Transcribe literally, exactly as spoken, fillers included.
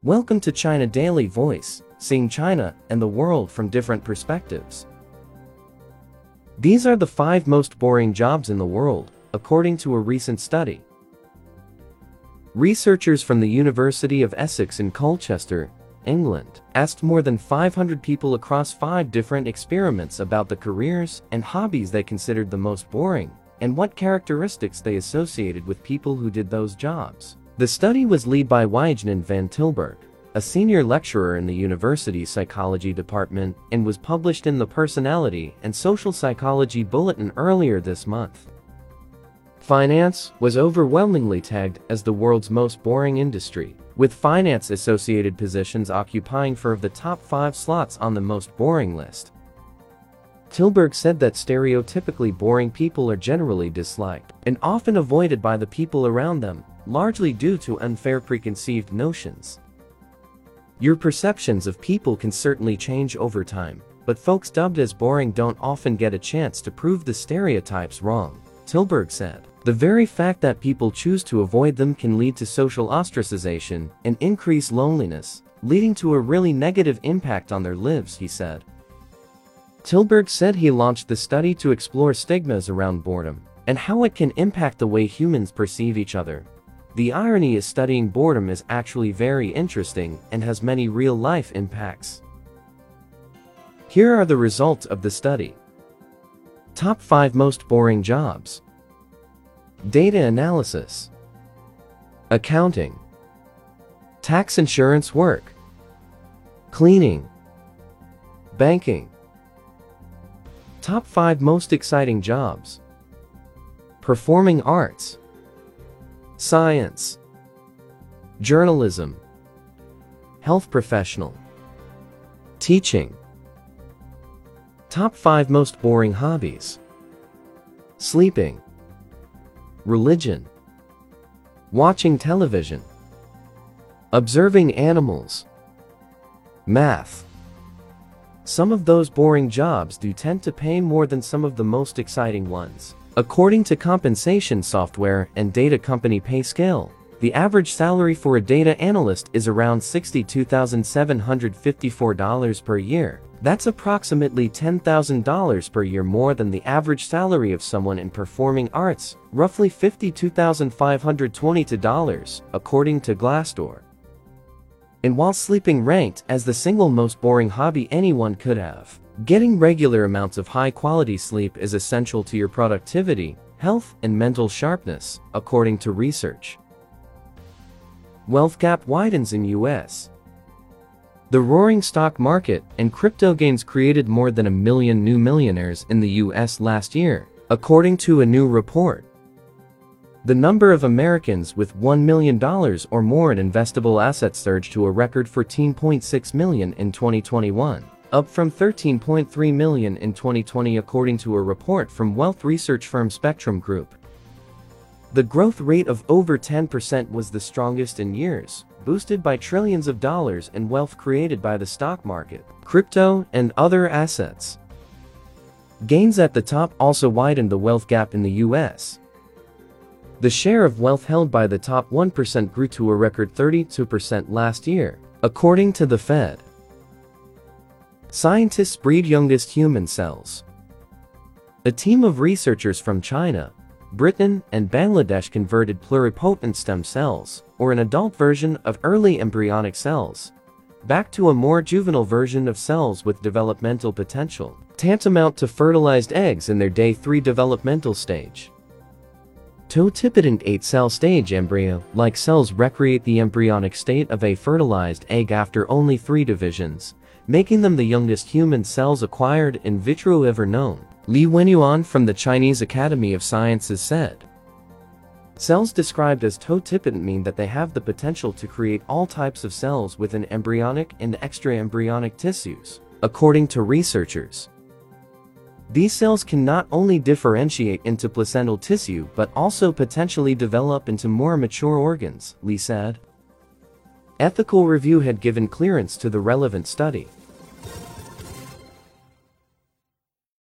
Welcome to China Daily Voice, seeing China and the world from different perspectives. These are the five most boring jobs in the world, according to a recent study. Researchers from the University of Essex in Colchester, England, asked more than five hundred people across five different experiments about the careers and hobbies they considered the most boring, and what characteristics they associated with people who did those jobs. The study was led by Wijnen van Tilburg, a senior lecturer in the university's psychology department, and was published in the Personality and Social Psychology Bulletin earlier this month. Finance was overwhelmingly tagged as the world's most boring industry, with finance-associated positions occupying four of the top five slots on the most boring list. Tilburg said that stereotypically boring people are generally disliked and often avoided by the people around them, largely due to unfair preconceived notions. Your perceptions of people can certainly change over time, but folks dubbed as boring don't often get a chance to prove the stereotypes wrong, Tilburg said. The very fact that people choose to avoid them can lead to social ostracization and increase loneliness, leading to a really negative impact on their lives, he said. Tilburg said he launched the study to explore stigmas around boredom and how it can impact the way humans perceive each other. The irony is studying boredom is actually very interesting and has many real-life impacts. Here are the results of the study. Top five most boring jobs. Data analysis, accounting, tax insurance work, cleaning, banking. Top five most exciting jobs. Performing arts, science, journalism, health professional, teaching. Top five most boring hobbies. Sleeping, religion, watching television, observing animals, math. Some of those boring jobs do tend to pay more than some of the most exciting ones. According to compensation software and data company PayScale, the average salary for a data analyst is around sixty-two thousand seven hundred fifty-four dollars per year. That's approximately ten thousand dollars per year more than the average salary of someone in performing arts, roughly fifty-two thousand five hundred twenty-two dollars, according to Glassdoor. And while sleeping ranked as the single most boring hobby anyone could have, getting regular amounts of high-quality sleep is essential to your productivity, health, and mental sharpness, according to research. Wealth gap widens in U S The roaring stock market and crypto gains created more than a million new millionaires in the U S last year, according to a new report. The number of Americans with one million dollars or more in investable assets surged to a record fourteen point six million in twenty twenty-one, up from thirteen point three million in twenty twenty according to a report from wealth research firm Spectrum Group. The growth rate of over ten percent was the strongest in years, boosted by trillions of dollars in wealth created by the stock market, crypto, and other assets. Gains at the top also widened the wealth gap in the U S The share of wealth held by the top one percent grew to a record thirty-two percent last year, according to the Fed. Scientists breed youngest human cells. A team of researchers from China, Britain, and Bangladesh converted pluripotent stem cells, or an adult version of early embryonic cells, back to a more juvenile version of cells with developmental potential, tantamount to fertilized eggs in their day three developmental stage. Totipotent eight-cell stage embryo-like cells recreate the embryonic state of a fertilized egg after only three divisions, making them the youngest human cells acquired in vitro ever known, Li Wenyuan from the Chinese Academy of Sciences said. Cells described as totipotent mean that they have the potential to create all types of cells within embryonic and extraembryonic tissues, according to researchers. These cells can not only differentiate into placental tissue but also potentially develop into more mature organs, Li said. Ethical review had given clearance to the relevant study.